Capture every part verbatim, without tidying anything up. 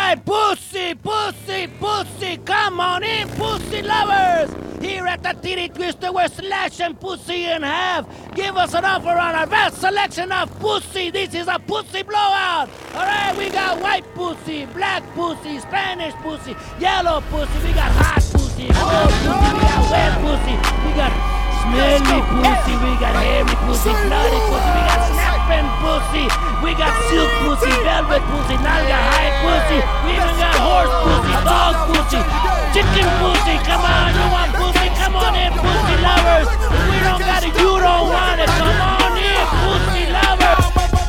right, pussy, pussy, pussy, come on in, pussy lovers. Here at the Titty Twister, we're slashing pussy in half. Give us an offer on our vast selection of pussy. This is a pussy blowout. All right, we got white pussy, black pussy, Spanish pussy, yellow pussy. We got hot pussy, cold pussy. We got wet pussy. We got smelly pussy. We got hairy pussy, bloody pussy. We got snapping pussy. We got silk pussy, velvet pussy, nalga high pussy. We even got horse pussy, dog pussy, chicken pussy. Come on, you want pussy? Come on in, pussy lovers. If we don't got it, you don't want it. Come on in, pussy lovers.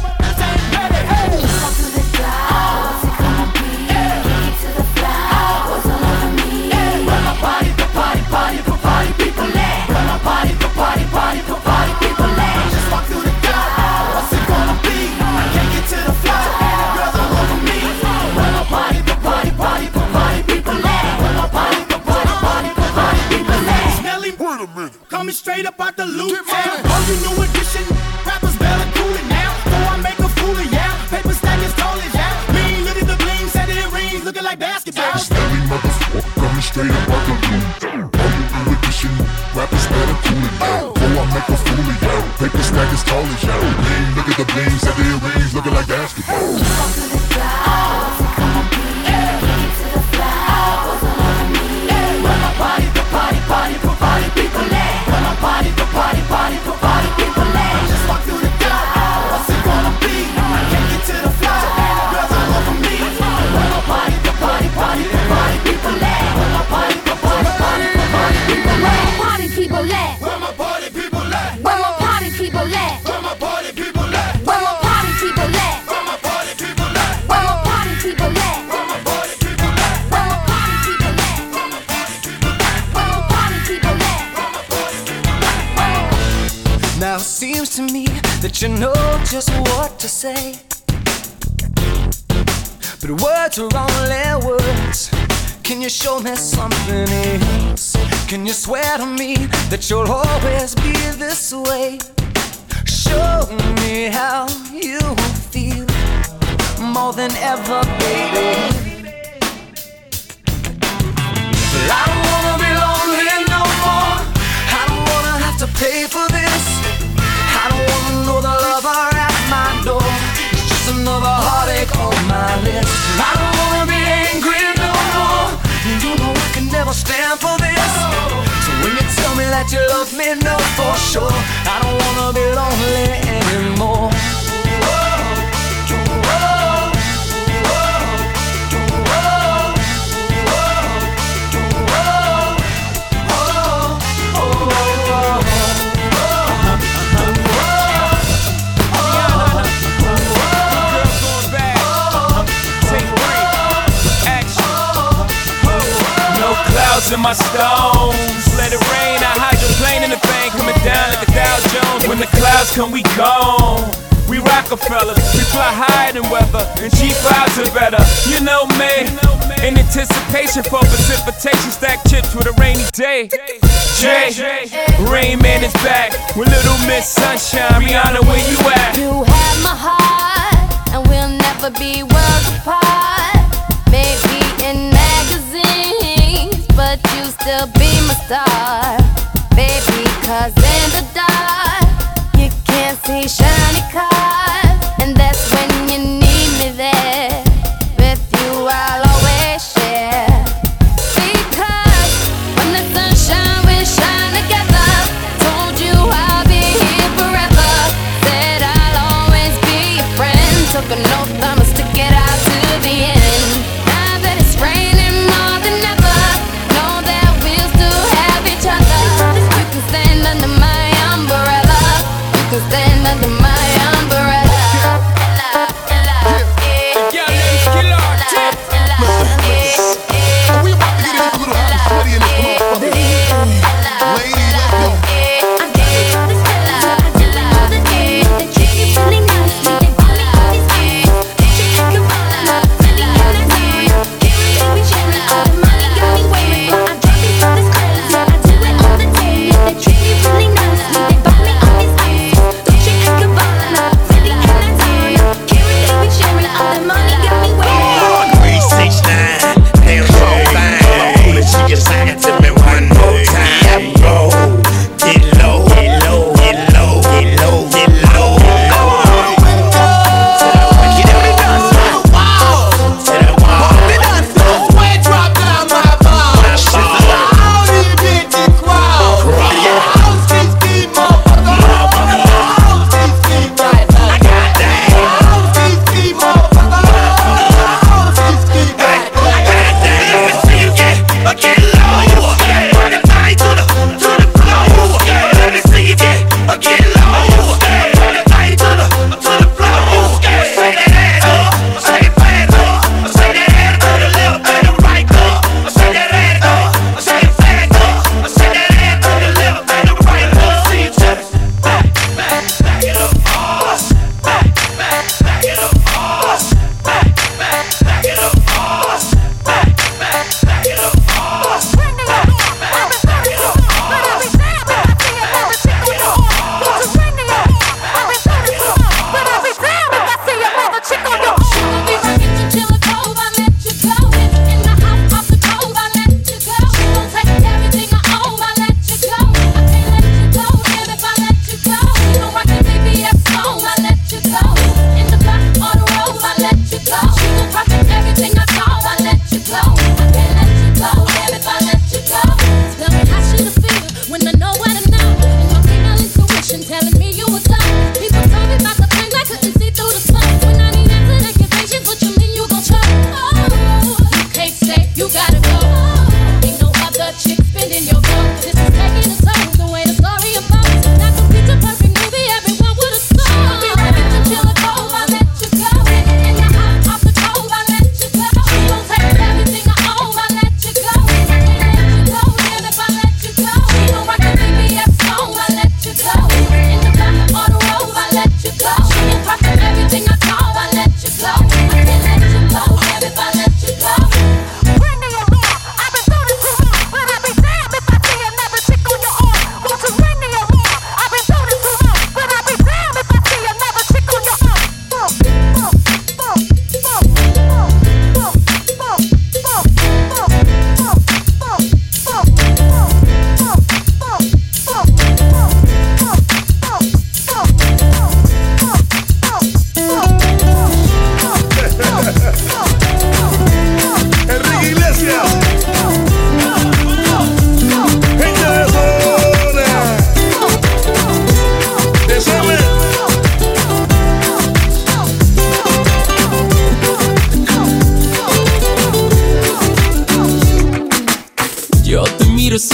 Party, party, party, party, people let. Party, party, party, party, people let. Just walk through the door. What's it gonna be? I can't get to the floor. Girls all over me. Party, party, party, party, people let. Party, party, party, party, people let. Smelly, wait a minute. Coming straight up out the loot town. Oh, you new edition. Rappers better cool it now. So I make a fool of ya. Paper stack as tall as ya. Mean, look at the bling, set it rings, looking like basketball. Smelly motherfucker coming straight up out the loot town. Rappers better cool it now. Oh, I make a fool of y'all. Paper stack as tall as y'all. Bling, look at the bling, set the earrings, looking like basketball. Walk through the clouds, come on, be to the flowers all over me. When my party, the party, party, the party, people let. When my party, the party, party, the party, people let. Just walk through the door. What's it gonna be? I can't get to the floor. Girls all over me. When my party, the party, party, the party, people let. When my party, the party, party, the party, people let. Party people let. Where my party people at? Where my party people let. Where my party people at? Where my party people let. Where my party people at? Where my party people let. Where my party people at? Where my party people let. Where my party people at? Where my party people let. Where my party people at? Now it seems to me that you know just what to say, but words are only words. Can you show me something else? Can you swear to me that you'll always be this way? Show me how you feel more than ever, baby. I don't wanna be lonely no more. I don't wanna have to pay for this. I don't wanna know the lover at my door. It's just another heartache on my list. I don't wanna be angry no more. You know I can never stand for this. So when you tell me that you love me, know for sure I don't wanna be lonely anymore. In my stones, let it rain. I hydroplane in the bank, coming down like a Dow Jones. When the clouds come, we gone. We Rockefellers, we fly higher than weather, and G fives are better. You know me, in anticipation for precipitation, stack chips with a rainy day. Jay, Rain Man is back with Little Miss Sunshine. Rihanna, where you at? You have my heart, and we'll never be worlds apart. Maybe in magazines, but you still be my star, baby, cause in the dark you can't see shiny cars, and that's when you need me there. With you I'll always share, because when the sunshine we shine together. Told you I'll be here forever, said I'll always be your friend. Took an oath, I'ma stick it out to the end. Now that it's raining more than ever, know that we'll still have each other. You can stand under my umbrella. You can stand under my umbrella. Your name's Killer Tip. We about to get into a little hot and sweaty in this motherfucker. Ladies, let's go.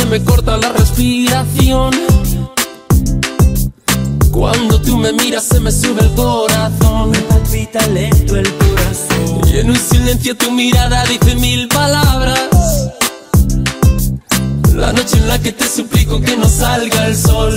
me corta la respiración. Cuando tú me miras se me sube el corazón. Me palpita lento el corazón. Y en un silencio tu mirada dice mil palabras. La noche en la que te suplico que no salga el sol.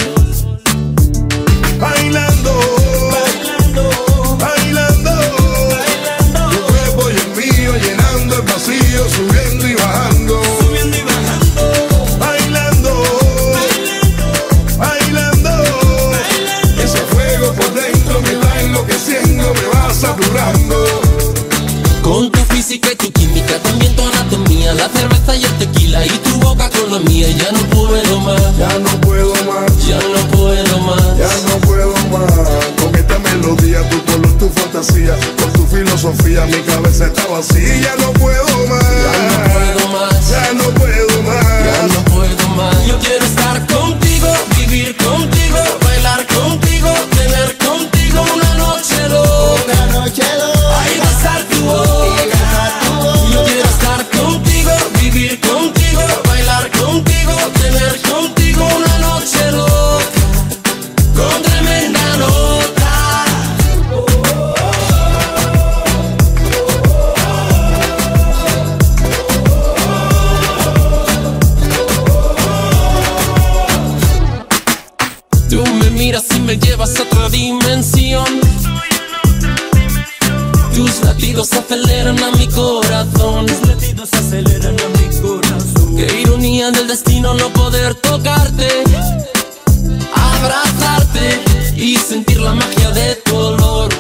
Bailando, bailando, bailando, bailando. Tu cuerpo y el mío llenando el vacío, subiendo y bajando, subiendo y bajando. Bailando, bailando, bailando, bailando. Ese fuego por dentro me va enloqueciendo, me va saturando. Con tu física y tu química, también tu anatomía, la cerveza y el tequila y tu boca con la mía. Ya no puedo más, ya no puedo más, ya no puedo más, ya no puedo más. Con esta melodía, tu color, tu fantasía, con tu filosofía, mi cabeza está vacía. Ya no puedo más, ya no puedo más, ya no puedo más, ya no puedo más. Yo quiero estar contigo, vivir contigo, bailar contigo, tener contigo una noche loca, una noche loca. Ahí besar tu boca. Yo quiero estar contigo, vivir contigo, bailar contigo, tener contigo una noche loca, con tremenda nota. Tú me miras y me llevas a otra dimensión. Tus latidos aceleran a mi corazón. Tus latidos aceleran a mi corazón. Qué ironía del destino no poder tocarte, abrazarte y sentir la magia de tu olor.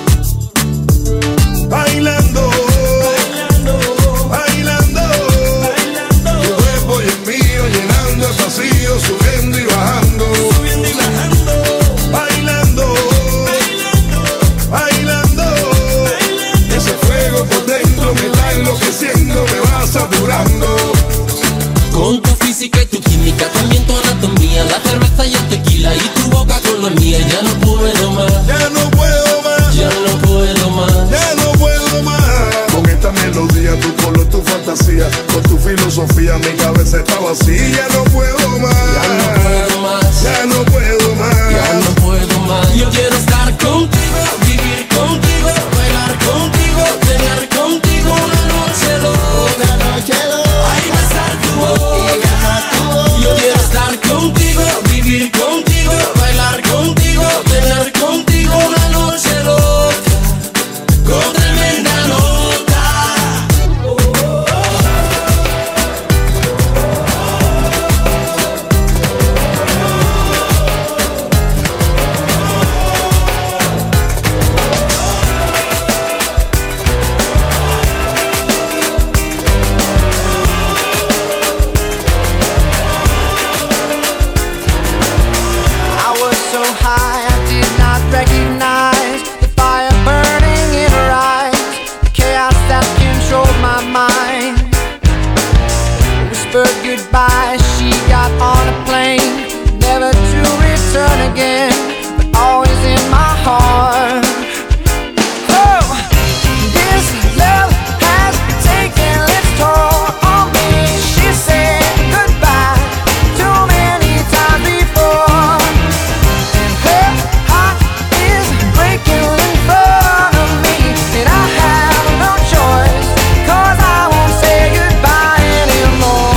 Bailando, bailando, bailando, bailando. Tu cuerpo y el mío llenando el vacío, subiendo y bajando, subiendo y bajando. Bailando, bailando, bailando, bailando. Ese fuego por dentro me está enloqueciendo, me va saturando. Con tu física y tu química, también tu anatomía, la cerveza y el tequila y tu boca con la mía. Ya no puedo más, ya no puedo más, ya no puedo más, ya no puedo más. Con esta melodía, tu color, tu fantasía, con tu filosofía, mi cabeza está vacía. Ya no puedo más, ya no puedo más, ya no puedo más, ya no puedo más. Yo quiero estar contigo, vivir contigo, bailar contigo, tener contigo una noche loca, una noche loca. Ahí besar tu boca. Yo quiero estar contigo, vivir contigo, bailar contigo, tener contigo una noche loca, con tremenda nota. Goodbye, she got on a plane, never to return again, but always in my heart. Oh, this love has taken its toll on me. She said goodbye too many times before, and her heart is breaking in front of me, and I have no choice, 'cause I won't say goodbye anymore.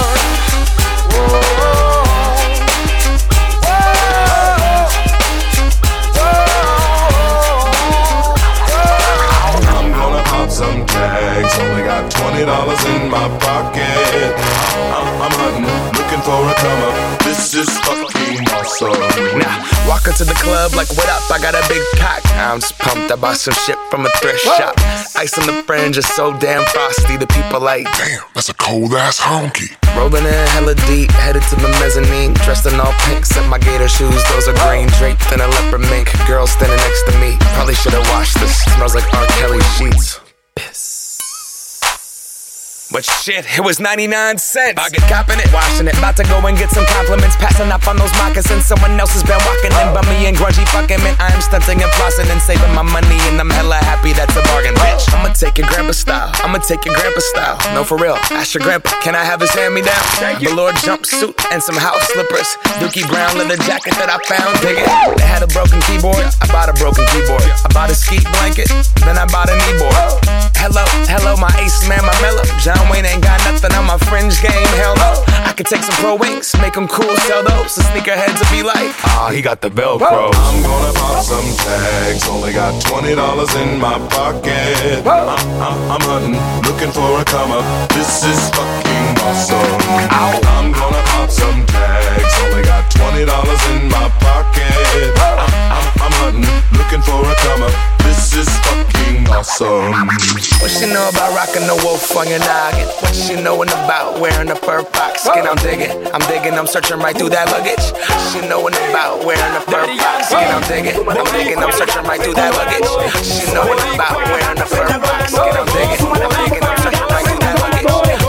Some tags, only got twenty dollars in my pocket. I'm, I'm hunting, looking for a come up. This is fucking awesome. Now, walk into the club like, what up? I got a big pack. I'm just pumped. I bought some shit from a thrift Whoa. shop. Ice on the fringe is so damn frosty. The people like, damn, that's a cold ass honky. Rolling in hella deep, headed to the mezzanine. Dressed in all pink, set my gator shoes. Those are green, draped in a leopard mink. Girl standing next to me. Probably should've washed this. Smells like R. Kelly sheets. Piss. But shit, it was ninety-nine cents. I get copping it, washing it. About to go and get some compliments. Passing up on those moccasins. Someone else has been walking in. Bummy and grungy fucking man. I am stunting and flossing and saving my money. And I'm hella happy that's a bargain, bitch. I'ma take your grandpa style. I'ma take your grandpa style. No, for real. Ask your grandpa, can I have his hand-me-down? Velour jumpsuit and some house slippers. Dookie brown leather jacket that I found. Dig it. They had a broken keyboard. I bought a broken keyboard. I bought a ski blanket. Then I bought a kneeboard. Hello, hello, my ace man, my mellow. John Wayne ain't got nothing on my fringe game, hell no. I could take some pro wings, make them cool, sell those. The sneakerheads will be like, ah, he got the Velcro. I'm gonna pop some tags, only got twenty dollars in my pocket. I'm, I'm, I'm hunting, looking for a come up. This is fucking awesome. Ow. I'm gonna pop some tags, only got twenty dollars in my pocket. I'm, I'm, I'm hunting, looking for a come up. This is fucking awesome. What she know about rocking the wolf on your noggin? What she knowin' about wearing a fur fox skin? I'm digging, I'm digging, I'm searching right through that luggage. She knowin' about wearing a fur fox skin? I'm digging, I'm digging, I'm searching right through that luggage. She knowin' about wearing a fur fox skin? I'm digging, I'm digging, I'm searching right through that luggage.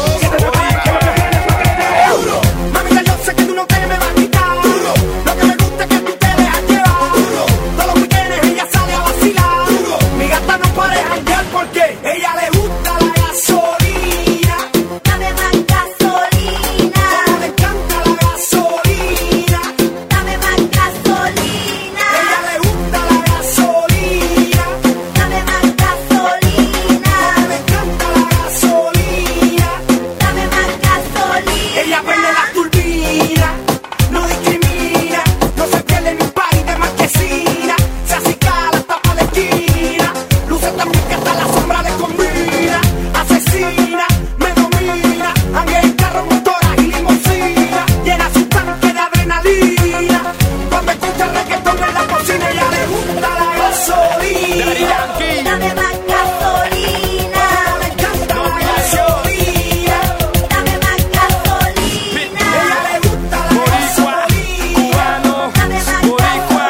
Mamita, yo sé que tú no te me vas a quitar. Lo que me gusta es que tú te dejas llevar. Todos los weekends ella sale a vacilar. Mi gata no puede janguear porque ella le gusta la gasolina. Dame más gasolina. Como le encanta la gasolina. Dame más gasolina. Ella le gusta la gasolina. Dame más gasolina. Como le encanta la gasolina. Dame más gasolina. Ella prende la turbina, no discrimina, no se pierde ni un party de marquesina. Se acicala hasta pa' la esquina, luce tan bien que hasta la sombra le combina. Asesina, me domina, anda en carro, motoras y limusina. Llena su tanque de adrenalina, cuando escucha reggaetón en la cocina. Ella le gusta la gasolina. Dame más gasolina. Le encanta la gasolina. Dame más gasolina. Ella le gusta la gasolina. Dame más gasolina.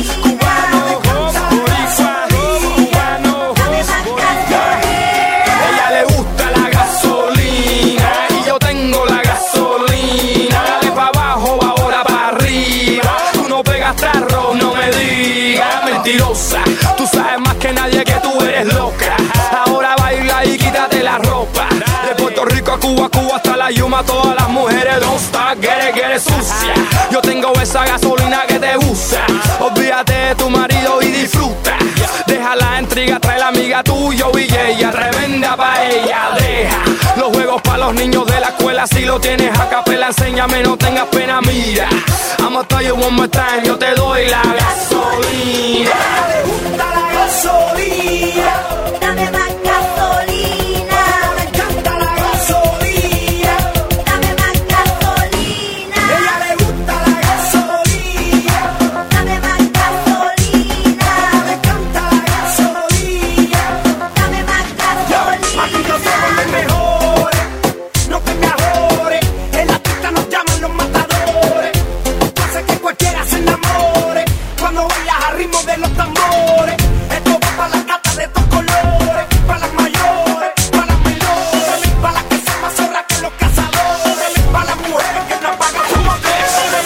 Dame más gasolina. Ella le gusta la gasolina y yo tengo la gasolina. Dale pa' abajo, ahora pa' arriba. Tú no pegas tarro, no me digas mentirosa. Tú sabes más que nadie que tú eres loca. Ahora baila y quítate la ropa. De Puerto Rico a Cuba, Cuba hasta la Yuma. Todas las mujeres don't stop, get it, get it sucia. Yo tengo esa gasolina que te gusta. Olvídate de tu marido y disfruta. Deja la intriga, trae la amiga tuya y ella. Tremenda pa' ella, deja los juegos pa' los niños de la escuela. Si lo tienes a capela, enséñame, no tengas pena, mira. I'ma tell you one more time, yo te doy la gasolina. Ella le gusta la gasolina. Dame más gasolina. Le encanta la gasolina. Dame más gasolina. Ella le gusta la gasolina. Dame más gasolina. Le encanta la gasolina. Dame más gasolina. Aquí no somos los mejores, no te me ajores. En la pista nos llaman los matadores. Hace que cualquiera se enamore cuando bailas al ritmo de los tambores. Esto va para las gatas de estos colores, para las mayores, para las menores, para las que son más zorras que los cazadores, para las mujeres que no pagan su motor.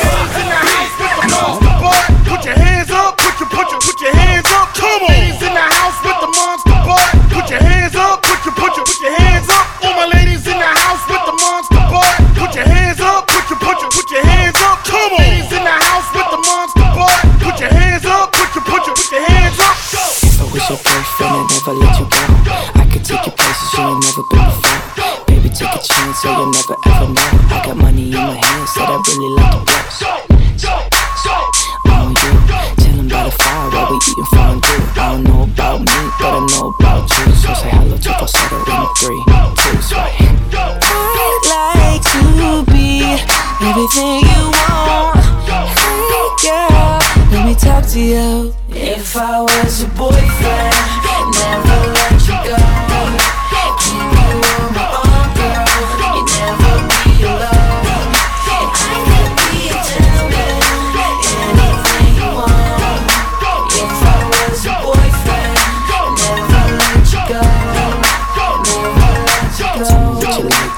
Put your hands up, put your, put your, put your hands up, come on. Ladies in the house with the monster butt. Put your hands up, put your, put your, put your hands up. All my ladies in the house with the monster butt. Put your hands up, put your, put your, put your hands up, come on. Ladies in the house with the monster butt. Put your hands up, put your, put your, put your hands up. If I was your boyfriend, I'd never let you go. I could take you places you ain't never been before. Baby, take a chance, so you'll never ever know. I got money in my hands that I really like to blow. On you, chillin' by the fire while we eatin' fondue. I don't know about me, but I know about you. So say hello to falsetto in three, two, three. I'd like to be everything you want. Hey girl, let me talk to you. If I was your boyfriend, never let you go. Keep you on my arm, girl. You never be alone. And I could be a gentleman, anything you want. If I was your boyfriend, never let you go. Never let you go.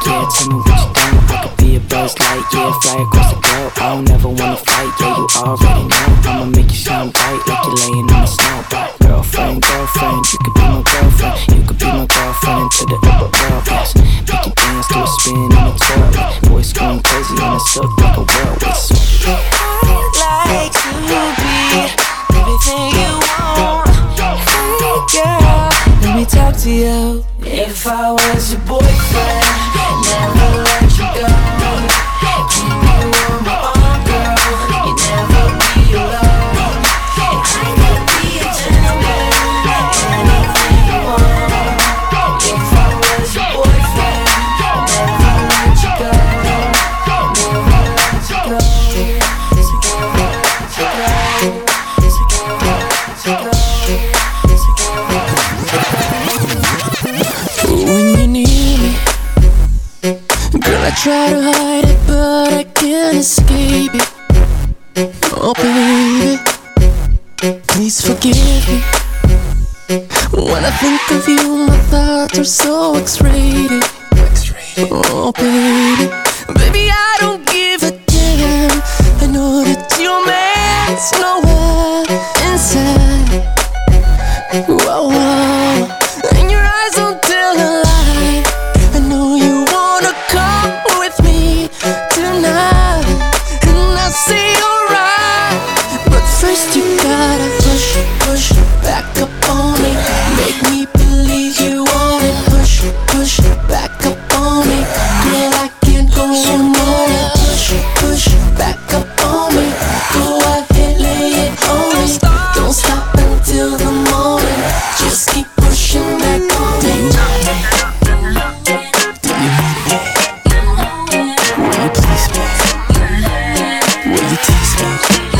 wanna fly across the globe. I don't ever wanna fight, yeah, you already know. I'ma make you shine bright like you're laying in the snow. Girlfriend, girlfriend, you could be my girlfriend. You could be my girlfriend into the upper world, yes. Make you dance to a spin in a twirl. Voice going crazy on a silk like a whirlwind. I'd like to be everything you want. Hey girl, let me talk to you. If I was your boyfriend, never let you go. Keep you on my arm, girl. You never be alone. And I could be a gentleman, anything you want. If I was your boyfriend, never let you go. Never let you go. So go, so go, so go, so go, so go. When you need me, girl, I try to hide it, but I can't escape it. Oh baby, please forgive me. When I think of you, my thoughts are so X-rated. Oh baby, baby, I don't give a damn. I know that your man's nowhere inside. Whoa, whoa. And your eyes don't tell a lie. I know you wanna come with me tonight, and I say alright. But first you gotta push, push back up on me. Make me believe you want it. Push, push back up on me. Girl, I can't go on more. Push, push back up on me. Go ahead, lay it on me. Don't stop until the morning. Just keep pushing back on me. Do you need me? Will you please me? Will you tease me?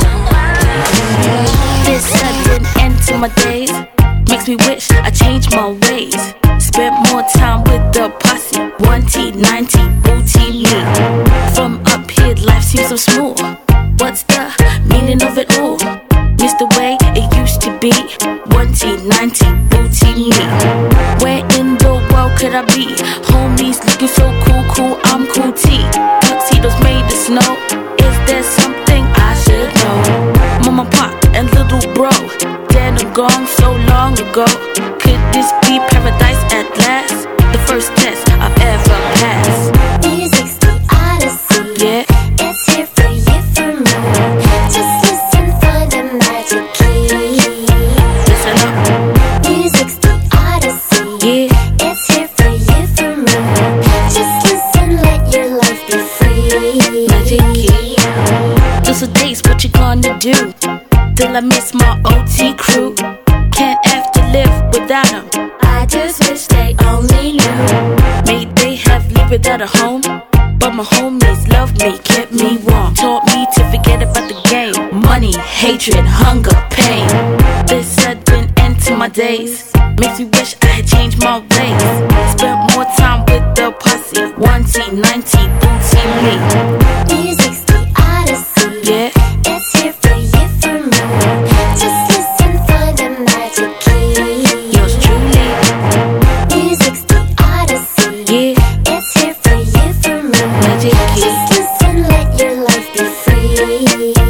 This sudden end to my days makes me wish I changed my ways. Spent more time with the posse. One T, ninety, booty me. From up here, life seems so smooth. What's the meaning of it all? Miss the way it used to be. One T, ninety, booty me. Where in the world could I be? Homies looking so cool, cool, I'm cool T. Tuxedos made of snow. Is there something I should know? Mama, pop, and little bro, dead and gone so long ago. Could this be paradise at last? The first test I've ever passed. Music's the odyssey. Yeah. It's here for you, for me. Just listen, find the magic key. Listen up. Music's the odyssey. Yeah. It's here for you, for me. Just listen, let your life be free. Magic key. Those are days, what you gonna do? Till I miss my O T crew. Can't have to live without them. I just wish they only knew. May they have lived without a home, but my homies loved me, kept me warm. Taught me to forget about the game. Money, hatred, hunger, pain. This sudden end to my days makes me wish I had changed my ways. Spent more time with the posse. One T, ninety, booty me. Music's the odyssey. Yeah. It's here for you, for me. Just listen, find the magic key. Yours truly. Music's the odyssey. Yeah. It's here for you, for me. Magic key. Just listen, let your life be free.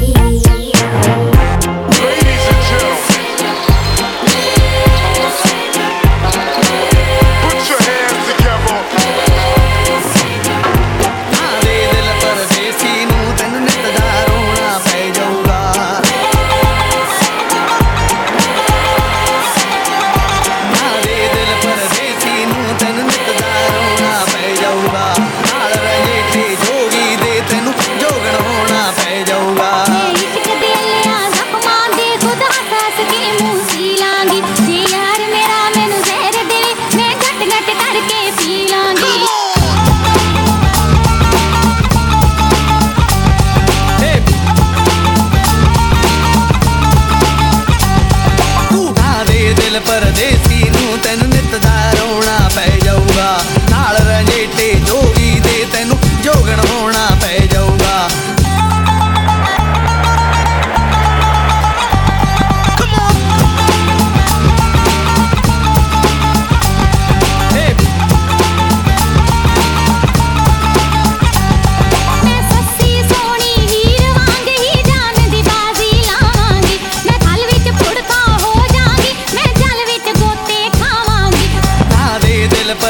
Ladies and gentlemen, put your hands together. Ave della parvesina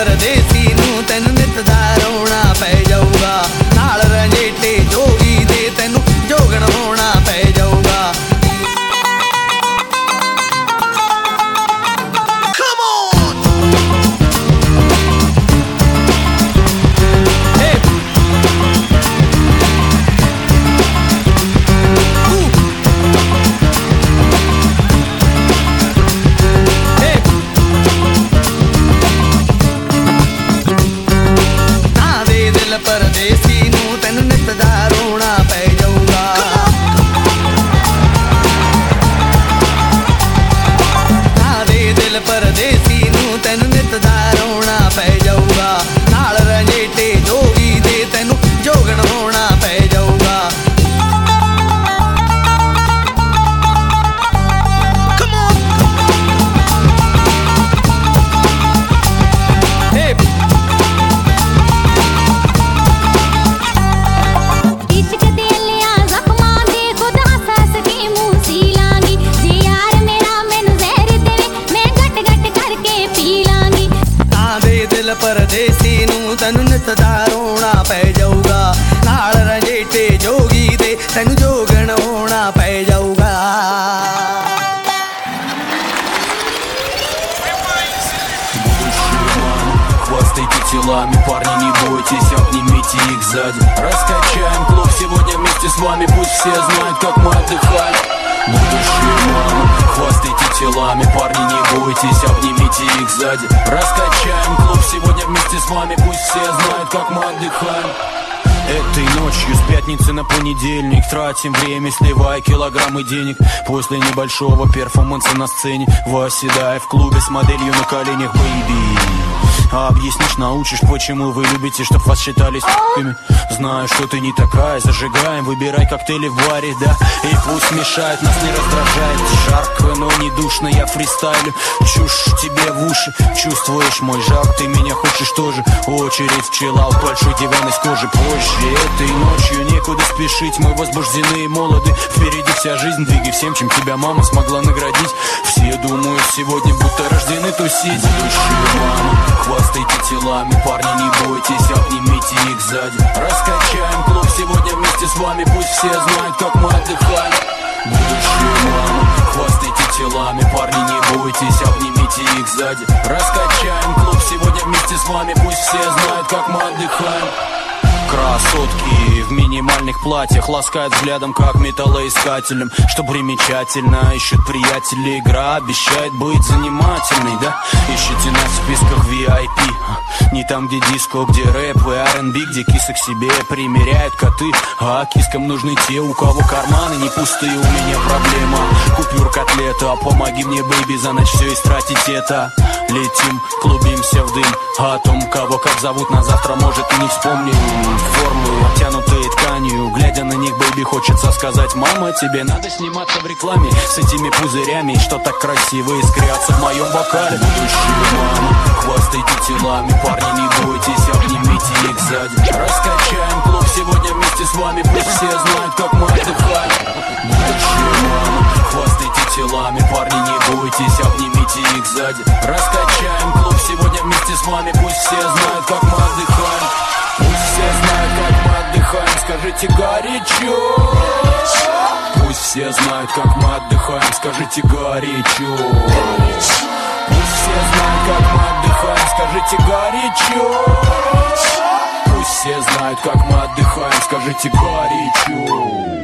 परदेसी नू तेनू नित दा रोना पै जाऊगा नाल रंजेटे जोगी दे तेनू जोगण होना पै जाऊगा परदेसी नू तेनू नित दा रोना पै जाऊगा ना दे दिल परदेसी नू तेनू नित दा रोना पै जाऊगा नाल रंजेटे जोगी दे तेनू जोगण होना पै जाऊगा परदेसी नू तेनू नित दा रोना पै जाऊगा नाल रंजेटे जोगी दे तेनू जोगण होना पै जाऊगा Хвастайте телами, парни, не бойтесь, обнимите их сзади. Раскачаем клуб сегодня вместе с вами, пусть все знают, как мы отдыхаем. Будущие мамы, хвастайте телами, парни, не бойтесь, обнимите их сзади. Раскачаем клуб сегодня вместе с вами, пусть все знают, как мы отдыхаем. Этой ночью с пятницы на понедельник тратим время, сливая килограммы денег. После небольшого перформанса на сцене восседая в клубе с моделью на коленях, бэйби. А объяснишь, научишь, почему вы любите, чтоб вас считали с***ками. Знаю, что ты не такая, зажигаем, выбирай коктейли в баре, да. И пусть мешает, нас не раздражает. Жарко, но не душно, я фристайлю. Чушь тебе в уши, чувствуешь мой жар, ты меня хочешь тоже. Очередь в чиллаут, большой диван из кожи позже. Этой ночью некуда спешить, мы возбуждены и молоды. Впереди вся жизнь, двигай всем, чем тебя мама смогла наградить. Все думают сегодня, будто рождены тусить. Будущие мамы, хвастайте телами, парни, не бойтесь, обнимите их сзади. Раскачаем клуб сегодня вместе с вами, пусть все знают, как мы отдыхаем. Будущие мамы, хвастайте телами, парни, не бойтесь, обнимите их сзади. Раскачаем клуб сегодня вместе с вами, пусть все знают, как мы отдыхаем. Красотки в минимальных платьях ласкают взглядом, как металлоискателем. Что примечательно, ищут приятели. Игра обещает быть занимательной, да? Ищите нас в списках ви ай пи. Не там, где диско, где рэп и ар энд би, где кисы к себе примеряют коты. А кискам нужны те, у кого карманы не пустые. У меня проблема, купюр котлета. Помоги мне, бэйби, за ночь все истратить это. Летим, клубимся в дым. О том, кого как зовут, на завтра, может, и не вспомним. Формы, обтянутые тканью. Глядя на них, бэйби, хочется сказать: мама, тебе надо сниматься в рекламе с этими пузырями, что так красиво искрятся в моем бокале. Будущие мамы, хвастайте телами, парни, не бойтесь, обнимите их сзади. Раскачаем клуб сегодня вместе с вами, пусть все знают, как мы отдыхаем. Будущие мамы, хвастайте телами, парни, не бойтесь, обнимите их сзади. Раскачаем клуб сегодня вместе с вами, пусть все знают, как мы отдыхаем. Пусть все знают, как мы отдыхаем, скажите горячо. Пусть все знают, как мы отдыхаем, скажите горячо. Пусть все знают, как мы отдыхаем, скажите горячо. Пусть все знают, как мы отдыхаем, скажите горячо.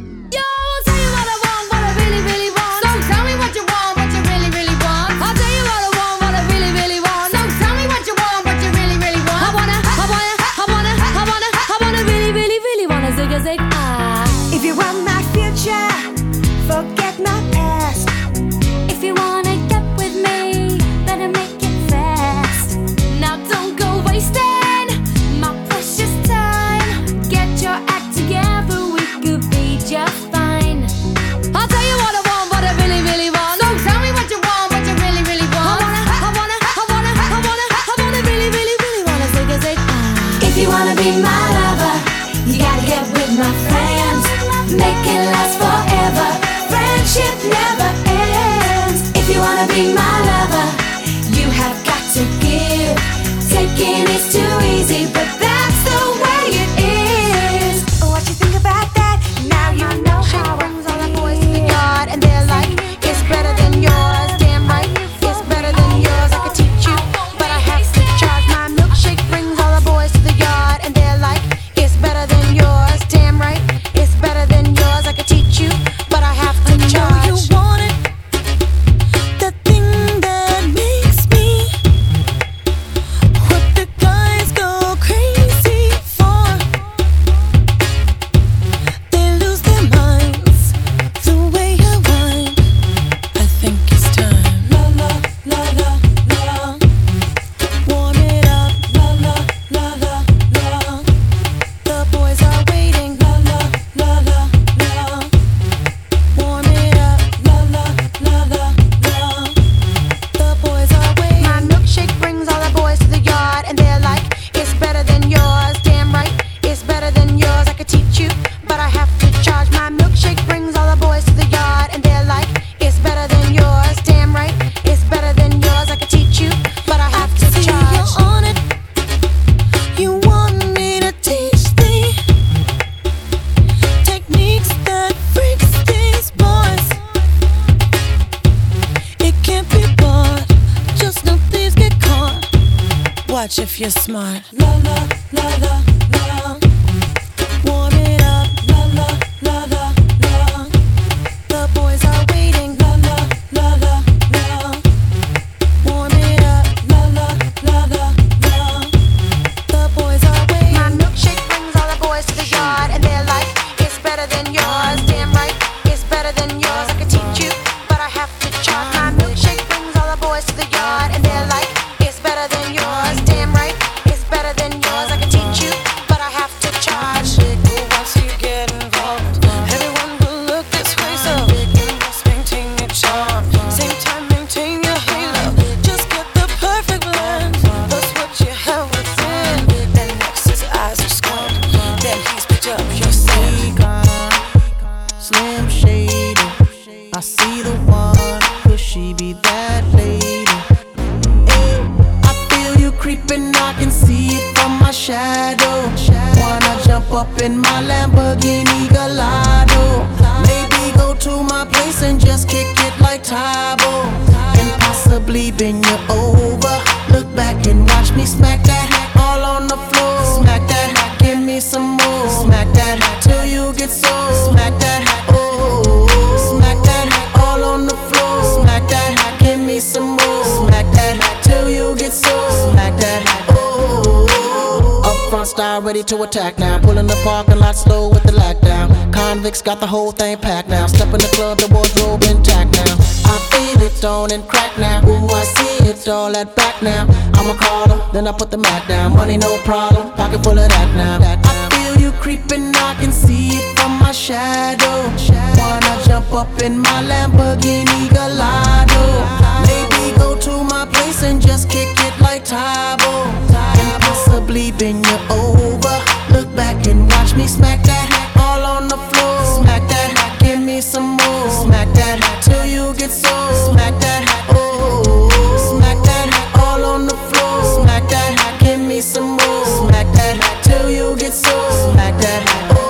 If you want my future, forget my past. If you wanna get with me, better make it fast. Now don't go wasting my precious time. Get your act together, we could be just fine. I'll tell you what I want, what I really, really want. So tell me what you want, what you really, really want. I wanna, I wanna, I wanna, I wanna, I wanna really, really, really wanna zig a zig. If you wanna be my lover, you gotta get with my friends. Make it last forever. Friendship never ends. If you wanna be my lover, you have got to give. thinking it's too easy, but that's the way it is. What you think about that? Now you know how. She brings all the boys to the yard and they're like, it's better than yours. Damn right, it's better than yours. I could teach you, but I have to charge. My milkshake brings all the boys to the yard and they're like, it's better than yours. Damn right, it's better than yours. I could teach you, but I have to charge. You want it, the thing that makes me what the guys go crazy for. They lose their minds the way I whine. I think it's time. La la la la la. Warm it up. La la la la la. The boys are waiting. La la la la la. Warm it up. La la la la la. The boys are waiting. My milkshake brings all the boys to the yard and they're like, it's better than yours. Damn right, it's better than yours. I could teach you, but I have to charge. My milkshake brings all the boys to the yard and they're like, it's better than yours. Damn right, it's better than yours. I could teach you, but I have to See charge. you're on it. You want me to teach thee techniques that freaks these boys. It can't be bought. Just no thieves get caught. Watch if you're smart. La la la la la. Warm it up. La la la la la. The boys are waiting. La la la la la. Warm it up. La la la la la. The boys are waiting. My milkshake brings all the boys to the yard and they're like, it's better than yours. Damn right, it's better than yours. I could teach you, but I have to charge. My milkshake brings all the boys to the yard and they're like, it's better than yours. Damn right, it's better than yours. I could teach you, but I have to charge. Once you get involved, everyone will look this way. So you must maintain your charm. Same time, maintain your halo. Just get the perfect blend. That's what you have within. Then next his eyes are squint. Then he's picked up your scent. Slim Shady, I see the one. Could she be that lady? Hey, I feel you creeping, I can see it from my shadow. Wanna jump up in my Lamborghini Gallardo? Maybe go to my place and just kick it like Tybo, and possibly bend you over. Look back and watch me smack that all on the floor. Smack that, give me some more. Smack that till you get so. Smack that, oh. Smack that all on the floor. Smack that, give me some more. Smack that till you get so. Smack that, oh. Up front style ready to attack now. Pulling the parking lot slow with the lockdown. Convicts got the whole thing packed now. Step in the club, the wardrobe intact now. I feel it on and crack now. Ooh, I see it all at back now. I'ma call her, then I put the Mac down. Money no problem, pocket full of that now. I feel you creeping, I can see it from my shadow. Wanna jump up in my Lamborghini Gallardo? Maybe go to my place and just kick it like Tybo, and possibly bend you over. Look back and watch me smack that all on the floor. Smack that, give me some more. Smack that till you get so. Smack that, oh. Smack that all on the floor. Smack that, give me some more. Smack that till you get so. Smack that,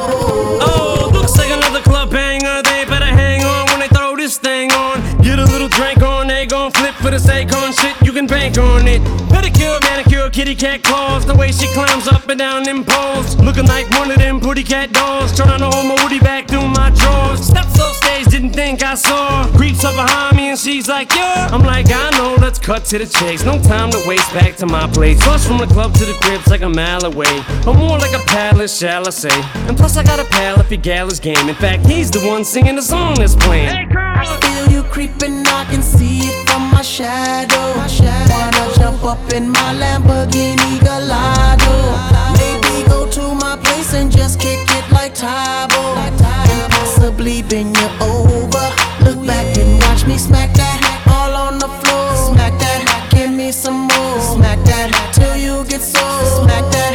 oh. Oh, looks like another club banger. They better hang on when they throw this thing on. Get a little drink on, they gon' flip for the Akon shit. You can bank on it. Pedicure, manicure, kitty cat claws. The way she climbs up and down them poles, looking like one of them pretty cat dolls. Trying to hold my woody back through my drawers. Steps off stage, didn't think I saw. Creeps up behind me and she's like, yeah. I'm like, I know, let's cut to the chase. No time to waste, back to my place. Plus from the club to the crib's like a mile away, or more like a palace, shall I say. And plus I got a pal if your gal is game. In fact, he's the one singing the song that's playing. Hey, girl. I feel you creeping, I can see it from my shadow. Wanna jump up in my Lamborghini Gallardo? Maybe go to my place and just kick it like Tybo, and possibly bend you over. Look back and watch me smack that all on the floor. Smack that, give me some more. Smack that till you get so. Smack that,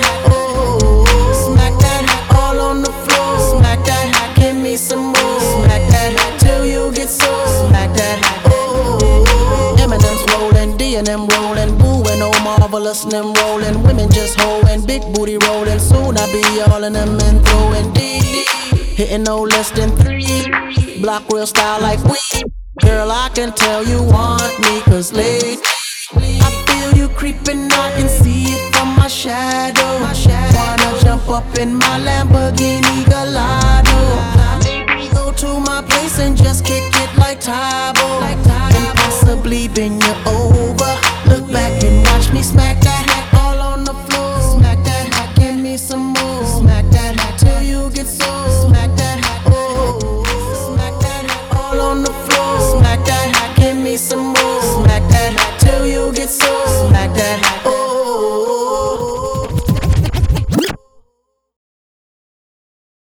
oh. Smack that all on the floor. Smack that, give me some more. Smack that till you get so. Smack that, oh. Eminem's rolling, D and M rolling, Boo and Oh Marvelous and them rolling. and women just hoeing, big booty rolling. Soon I be all in them and throwing D. Hitting no less than three. Block real style like we. Girl, I can tell you want me, cause late I feel you creeping, I can see it from my shadow. Wanna jump up in my Lamborghini Gallardo. Maybe go to my place and just kick it like Tybo, and possibly bend you over. Look back and watch me smack that all on the floor. Smack that, give me some more. Smack that till you get so. Smack that, oh, smack that all on the floor. Smack that, give me some more. Smack that till you get so.